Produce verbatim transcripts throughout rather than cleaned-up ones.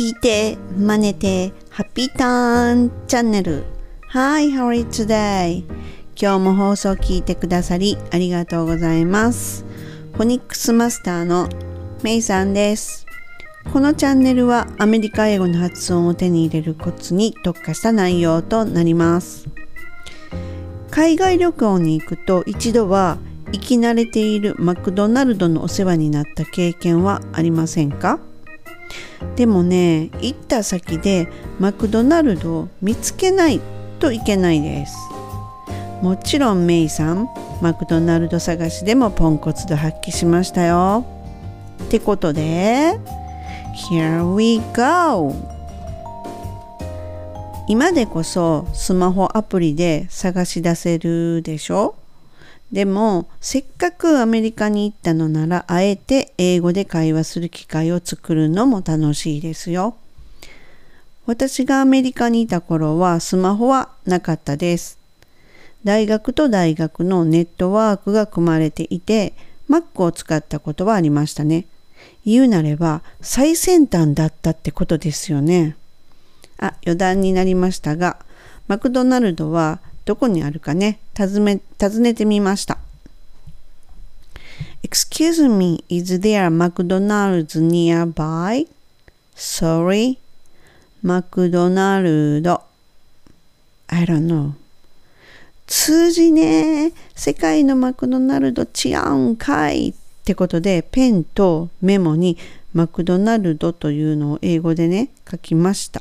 聞いて、真似て、ハッピーターンチャンネル。Hi, how are you today? 今日も放送聞いてくださりありがとうございます。フォニックスマスターのメイさんです。このチャンネルはアメリカ英語の発音を手に入れるコツに特化した内容となります。海外旅行に行くと一度は生き慣れているマクドナルドのお世話になった経験はありませんか？でもね、行った先でマクドナルドを見つけないといけないです。もちろんメイさん、マクドナルド探しでもポンコツ度発揮しましたよ。ってことで、Here we go! 今でこそスマホアプリで探し出せるでしょ？でもせっかくアメリカに行ったのならあえて英語で会話する機会を作るのも楽しいですよ。私がアメリカにいた頃はスマホはなかったです。大学と大学のネットワークが組まれていて Mac を使ったことはありましたね。言うなれば最先端だったってことですよね。あ、余談になりましたが、マクドナルドはどこにあるかね、尋ね、尋ねてみました。Excuse me, is there a McDonald's nearby? Sorry, マクドナルド。I don't know. 通じねえ。世界のマクドナルド違うんかいってことで、ペンとメモにマクドナルドというのを英語でね、書きました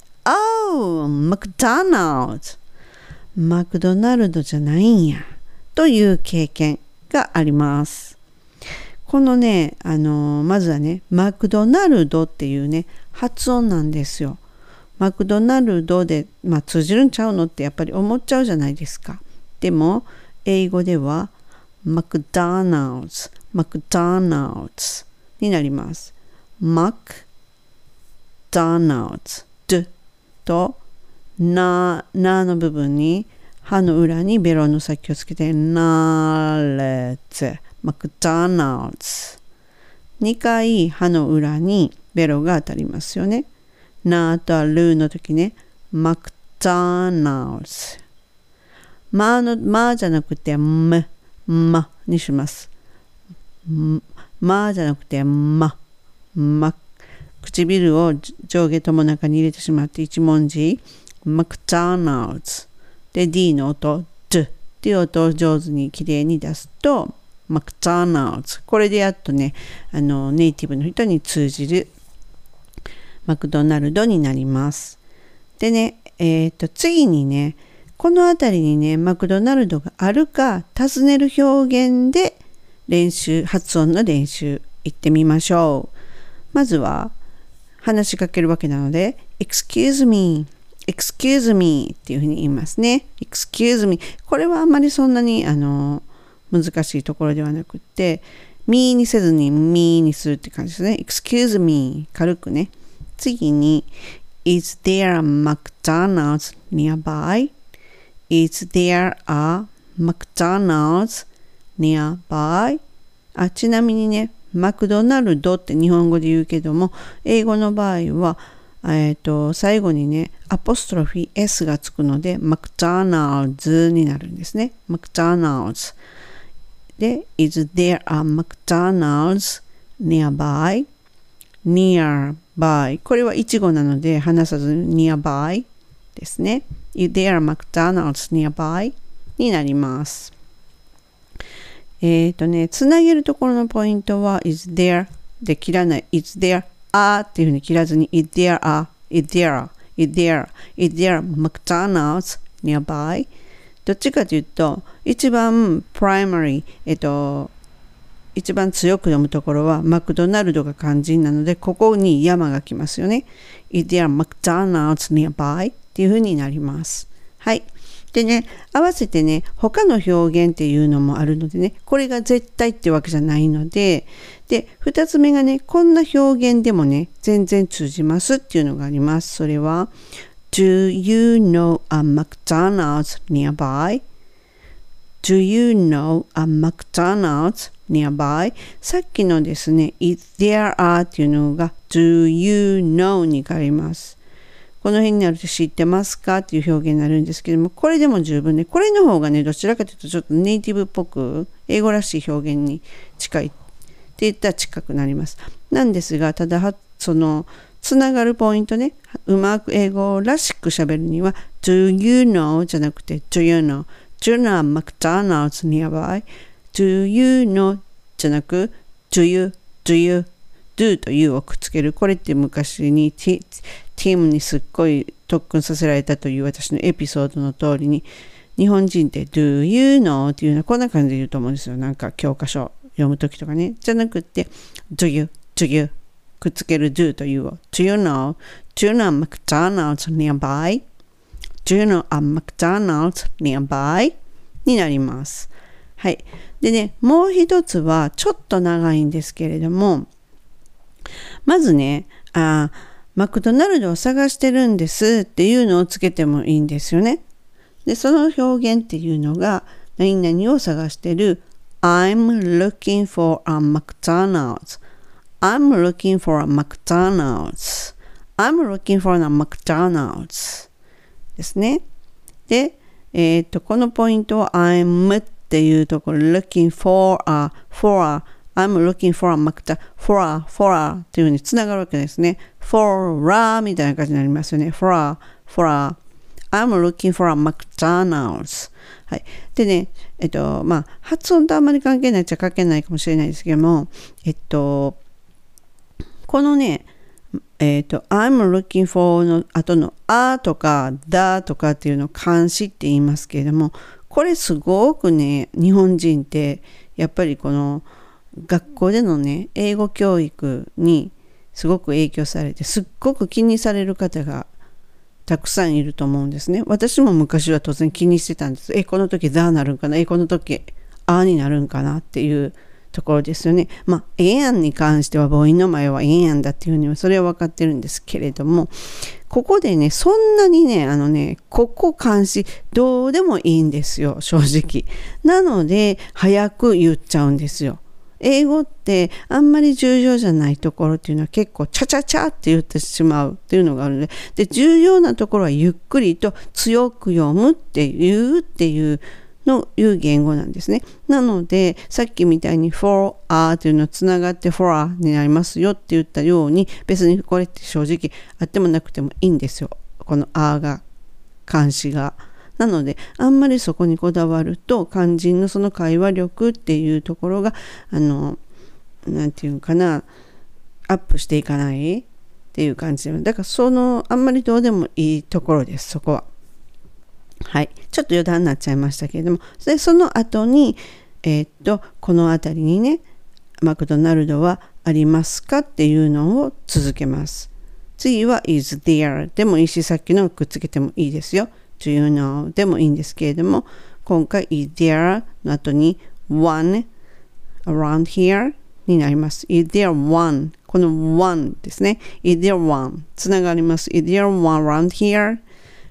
。Oh, McDonald's!マクドナルドじゃないんやという経験があります。このね、あのー、まずはね、マクドナルドっていうね、発音なんですよ。マクドナルドで、まあ、通じるんちゃうのってやっぱり思っちゃうじゃないですか。でも、英語ではマクドナルズ、マクドナルズになります。マクドナルズ、ドとな、なの部分に歯の裏にベロの先をつけてナレッツ、マクドナルズ。にかい歯の裏にベロが当たりますよね。なとルの時ね、マクドナルズ。まの、まじゃなくてむ、まにします。まじゃなくてま、ま。唇を上下とも中に入れてしまって一文字。マクドナルズで D の音 D っていう音を上手にきれいに出すとマクドナルズ、これでやっとね、あのネイティブの人に通じるマクドナルドになります。でね、えっと次にね、このあたりにねマクドナルドがあるか尋ねる表現で練習、発音の練習いってみましょう。まずは話しかけるわけなので Excuse me、Excuse me っていうふうに言いますね。Excuse me。これはあんまりそんなにあの難しいところではなくって、me にせずに me にするって感じですね。Excuse me。軽くね。次に Is there a McDonald's nearby? Is there a McDonald's nearby? あ、ちなみにね、マクドナルドって日本語で言うけども、英語の場合はえー、と最後にねアポストロフィー S がつくのでマクドナルズになるんですね。マクドナルズで Is there a McDonald's nearby? Nearby これは一語なので話さずに Nearby ですね。Is there a McDonald's nearby? になります。えっ、ー、とねつなげるところのポイントは Is there で切らない Is thereあっていうふうに切らずに Is there a, is there, is there, is there McDonald's nearby? どっちかというと一番 primary えっと一番強く読むところはマクドナルドが漢字なのでここに山が来ますよね。Is there McDonald's nearby? っていうふうになります。はい。でね、合わせてね、他の表現っていうのもあるのでね、これが絶対ってわけじゃないので、で、二つ目がね、こんな表現でもね、全然通じますっていうのがあります。それは、Do you know a McDonald's nearby? Do you know a McDonald's nearby。さっきのですね、is there are っていうのが do you know に変わります。この辺になると知ってますかっていう表現になるんですけども、これでも十分ね、これの方がね、どちらかというとちょっとネイティブっぽく、英語らしい表現に近いって言ったら近くなります。なんですが、ただ、その、つながるポイントね、うまく英語らしく喋るには、do you know じゃなくて、do you know。do you know McDonald's nearby?do you know じゃなく、do you, do you, do と you をくっつける。これって昔にティームにすっごい特訓させられたという私のエピソードの通りに、日本人って do you know っていうのはこんな感じで言うと思うんですよ。なんか教科書読むときとかね。じゃなくて、do you, do you くっつける do と you を do you know, do you know McDonald's nearby? do you know a McDonald's nearby? になります。はい。でね、もう一つはちょっと長いんですけれども、まずね、あマクドナルドを探してるんですっていうのをつけてもいいんですよね。で、その表現っていうのが、何々を探してる I'm looking for a McDonald's。I'm looking for a McDonald's。I'm looking for a McDonald's ですね。で、えっと、このポイントは I'm っていうところ looking for a, for a I'm looking for a McDonald's, for a, for a っていう風につながるわけですね。for a みたいな感じになりますよね。for a, for a, I'm looking for a McDonald's。はい。でね、えっと、まあ、発音とあんまり関係ないっちゃ関係ないかもしれないですけども、えっと、このね、えっと、I'm looking for の後のあとかだとかっていうのを漢詞って言いますけれども、これすごくね、日本人ってやっぱりこの学校でのね、英語教育にすごく影響されて、すっごく気にされる方がたくさんいると思うんですね。私も昔は当然気にしてたんです。え、この時ザーなるんかな、え、この時あーになるんかなっていうところですよね。まあ、ええやんに関しては母音の前はええやんだっていうふうにはそれは分かってるんですけれども、ここでね、そんなにね、あのね、ここ漢詞どうでもいいんですよ、正直。なので、早く言っちゃうんですよ。英語ってあんまり重要じゃないところっていうのは結構チャチャチャって言ってしまうっていうのがあるので、で、重要なところはゆっくりと強く読むっていうっていうのいう言語なんですね。なので、さっきみたいに for a というのをつながって for a になりますよって言ったように、別にこれって正直あってもなくてもいいんですよ。この a が、漢詞が。なので、あんまりそこにこだわると、肝心のその会話力っていうところが、あの、なんていうかな、アップしていかないっていう感じで。だから、その、あんまりどうでもいいところです、そこは。はい。ちょっと余談になっちゃいましたけれども、で、その後に、えー、っと、この辺りにね、マクドナルドはありますかっていうのを続けます。次は is there でもいいし、さっきのくっつけてもいいですよ。do you know でもいいんですけれども、今回 is there の後に one around here になります。is there one この one ですね。is there one つながります。is there one around here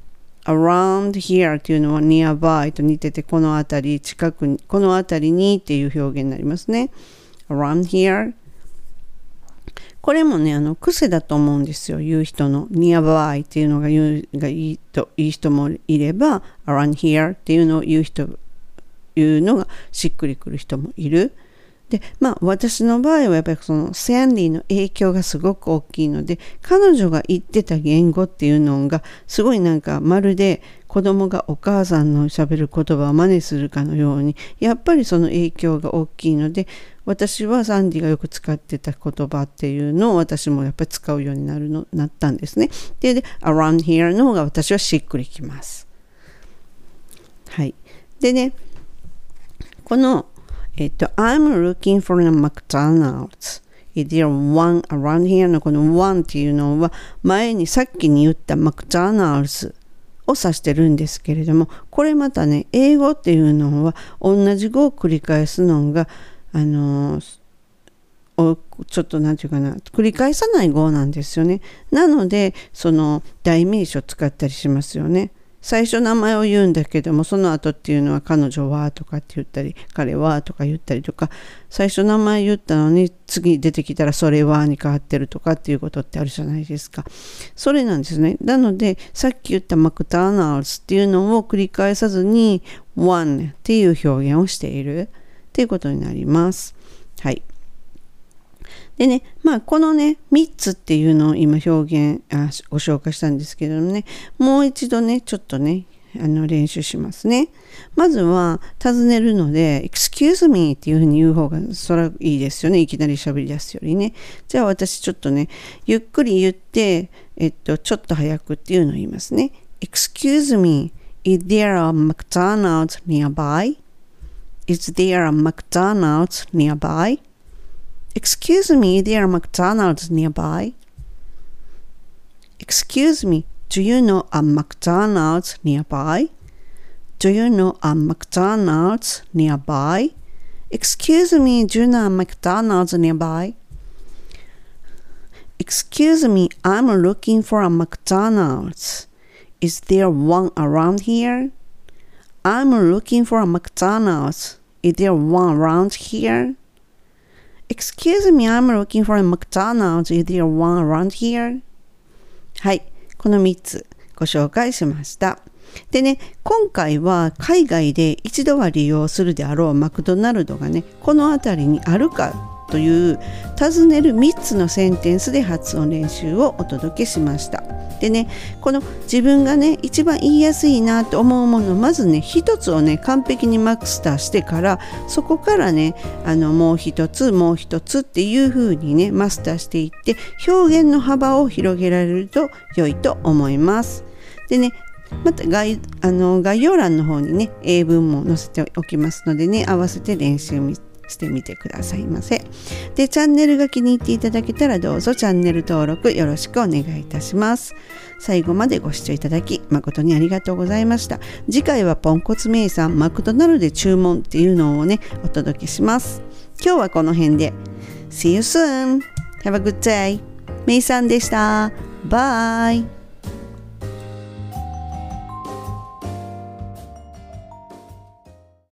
around here っていうのは nearby と似てて、この辺り近くに、この辺りにっていう表現になりますね。around hereこれもね、あの、癖だと思うんですよ。言う人の nearby っていうのが言うがいいと、いい人もいれば、around here っていうのを言う人、言うのがしっくりくる人もいる。で、まあ、私の場合はやっぱりそのサンディの影響がすごく大きいので、彼女が言ってた言語っていうのが、すごいなんかまるで子供がお母さんの喋る言葉を真似するかのように、やっぱりその影響が大きいので、私はサンディがよく使ってた言葉っていうのを私もやっぱり使うようになるのなったんですね。で、で around here の方が私はしっくりきます。はい。でね、この、えっと、I'm looking for a McDonald's. Is there one around here? のこの one っていうのは前にさっきに言った McDonald's を指してるんですけれども、これまたね、英語っていうのは同じ語を繰り返すのがあのー、ちょっとなんていうかな、繰り返さない語なんですよね。なので、その代名詞を使ったりしますよね。 最初名前を言うんだけども、その後っていうのは彼女はとかって言ったり、彼はとか言ったりとか、最初名前言ったのに次出てきたらそれはに変わってるとかっていうことってあるじゃないですか。それなんですね。なのでさっき言ったマクダナルズっていうのを繰り返さずに one っていう表現をしているっていうことになります。はい。でね、まあこのねみっつっていうのを今表現あご紹介したんですけどもね、もう一度ねちょっとねあの練習しますね。まずは尋ねるので excuse me っていうふうに言う方がそれはいいですよね。いきなり喋り出すよりね。じゃあ私ちょっとねゆっくり言ってえっとちょっと早くっていうのを言いますね。Excuse me, is there a McDonald's nearby? Is there a McDonald's nearby?Excuse me, is there a McDonald's nearby? Excuse me, do you know a McDonald's nearby? Do you know a McDonald's nearby? Excuse me, do you know a McDonald's nearby? Excuse me, I'm looking for a McDonald's. Is there one around here? I'm looking for a McDonald's. Is there one around here?Excuse me, I'm looking for a McDonald's. Is there one around here? はい、このみっつご紹介しました。でね、今回は海外で一度は利用するであろうマクドナルドがね、この辺りにあるかという尋ねるみっつのセンテンスで発音練習をお届けしました。でね、この自分がね一番言いやすいなと思うものをまずね一つをね完璧にマスターしてから、そこからねあのもう一つもう一つっていう風にねマスターしていって表現の幅を広げられると良いと思います。でね、また 概, あの概要欄の方にね英文も載せておきますのでね、合わせて練習してみてくださいませ。で、チャンネルが気に入っていただけたらどうぞチャンネル登録よろしくお願いいたします。最後までご視聴いただき誠にありがとうございました。次回はポンコツメイさんマクドナルドで注文っていうのをねお届けします。今日はこの辺で See you soon! Have a good day! メイさんでした。バイ